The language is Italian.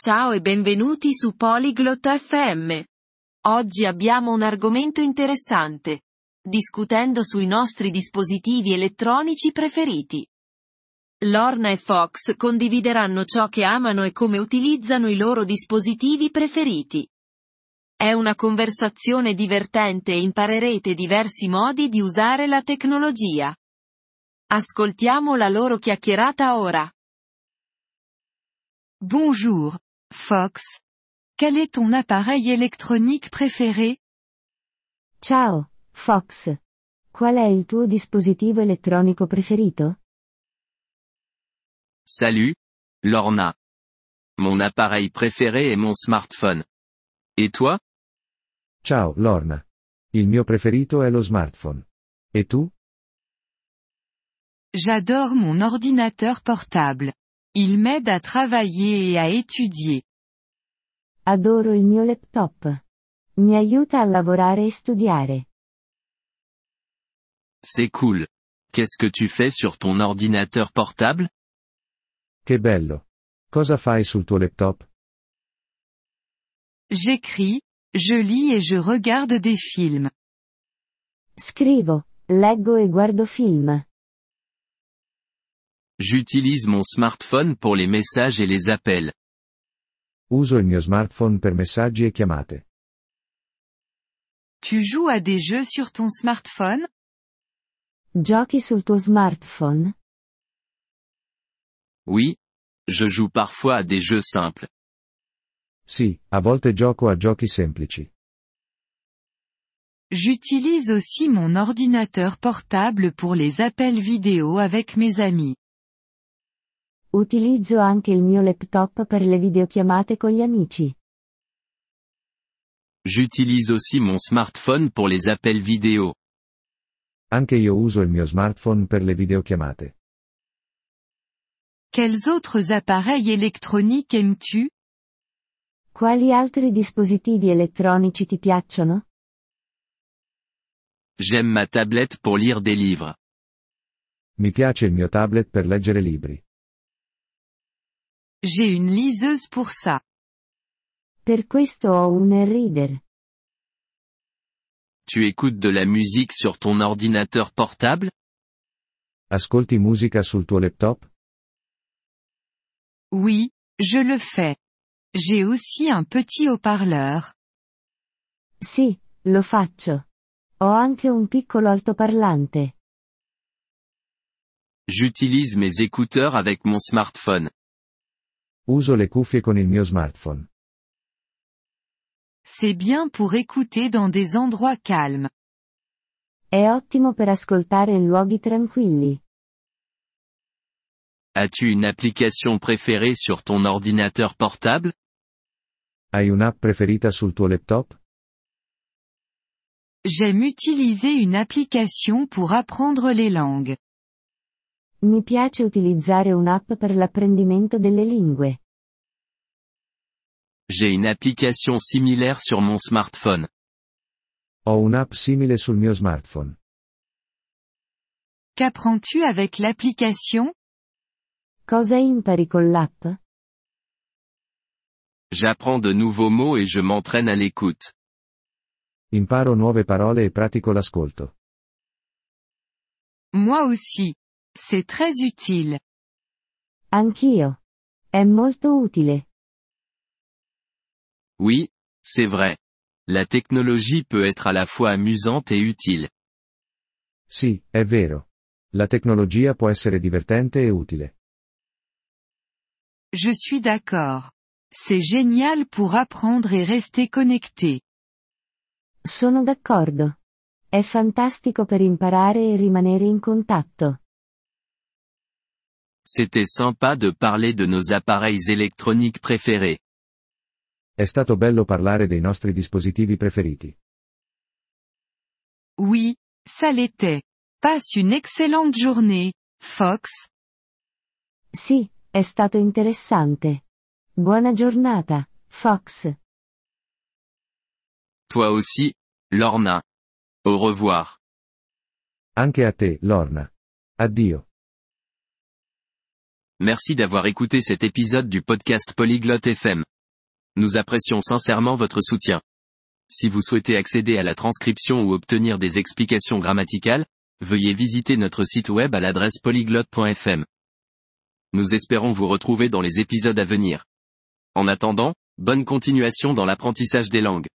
Ciao e benvenuti su Polyglot FM. Oggi abbiamo un argomento interessante. Discutendo sui nostri dispositivi elettronici preferiti. Lorna e Fox condivideranno ciò che amano e come utilizzano i loro dispositivi preferiti. È una conversazione divertente e imparerete diversi modi di usare la tecnologia. Ascoltiamo la loro chiacchierata ora. Bonjour, Fox. Quel est ton appareil électronique préféré? Ciao, Fox. Qual è il tuo dispositivo elettronico preferito? Salut, Lorna. Mon appareil préféré est mon smartphone. Et toi? Ciao, Lorna. Il mio preferito è lo smartphone. E tu? J'adore mon ordinateur portable. Il m'aide à travailler et à étudier. Adoro il mio laptop. Mi aiuta a lavorare e studiare. C'est cool. Qu'est-ce que tu fais sur ton ordinateur portable? Che bello. Cosa fai sul tuo laptop? J'écris, je lis et je regarde des films. Scrivo, leggo e guardo film. J'utilise mon smartphone pour les messages et les appels. Uso il mio smartphone per messaggi e chiamate. Tu joues à des jeux sur ton smartphone? Giochi sul tuo smartphone? Oui. Je joue parfois à des jeux simples. Sì, a volte gioco a giochi semplici. J'utilise aussi mon ordinateur portable pour les appels vidéo avec mes amis. Utilizzo anche il mio laptop per le videochiamate con gli amici. J'utilise aussi mon smartphone pour les appels vidéo. Anche io uso il mio smartphone per le videochiamate. Quels autres appareils électroniques aimes-tu? Quali altri dispositivi elettronici ti piacciono? J'aime ma tablette pour lire des livres. Mi piace il mio tablet per leggere libri. J'ai une liseuse pour ça. Per questo ho un e-reader. Tu écoutes de la musique sur ton ordinateur portable? Ascolti musica sul tuo laptop? Oui, je le fais. J'ai aussi un petit haut-parleur. Sì, lo faccio. Ho anche un piccolo altoparlante. J'utilise mes écouteurs avec mon smartphone. Uso le cuffie con il mio smartphone. C'est bien pour écouter dans des endroits calmes. È ottimo per ascoltare in luoghi tranquilli. As-tu une application préférée sur ton ordinateur portable? Hai un'app preferita sul tuo laptop? J'aime utiliser une application pour apprendre les langues. Mi piace utilizzare un'app per l'apprendimento delle lingue. J'ai une application similaire sur mon smartphone. Ho un'app simile sul mio smartphone. Qu'apprends-tu avec l'application? Cosa impari con l'app? J'apprends de nouveaux mots et je m'entraîne à l'écoute. Imparo nuove parole e pratico l'ascolto. Moi aussi. C'est très utile. Anch'io. È molto utile. Oui, c'est vrai. La technologie peut être à la fois amusante et utile. Sì, è vero. La tecnologia può essere divertente e utile. Je suis d'accord. C'est génial pour apprendre et rester connecté. Sono d'accordo. È fantastico per imparare e rimanere in contatto. C'était sympa de parler de nos appareils électroniques préférés. È stato bello parlare dei nostri dispositivi preferiti. Oui, ça l'était. Passe une excellente journée, Fox. Sì, è stato interessante. Buona giornata, Fox. Toi aussi, Lorna. Au revoir. Anche a te, Lorna. Addio. Merci d'avoir écouté cet épisode du podcast Polyglot FM. Nous apprécions sincèrement votre soutien. Si vous souhaitez accéder à la transcription ou obtenir des explications grammaticales, veuillez visiter notre site web à l'adresse polyglotte.fm. Nous espérons vous retrouver dans les épisodes à venir. En attendant, bonne continuation dans l'apprentissage des langues.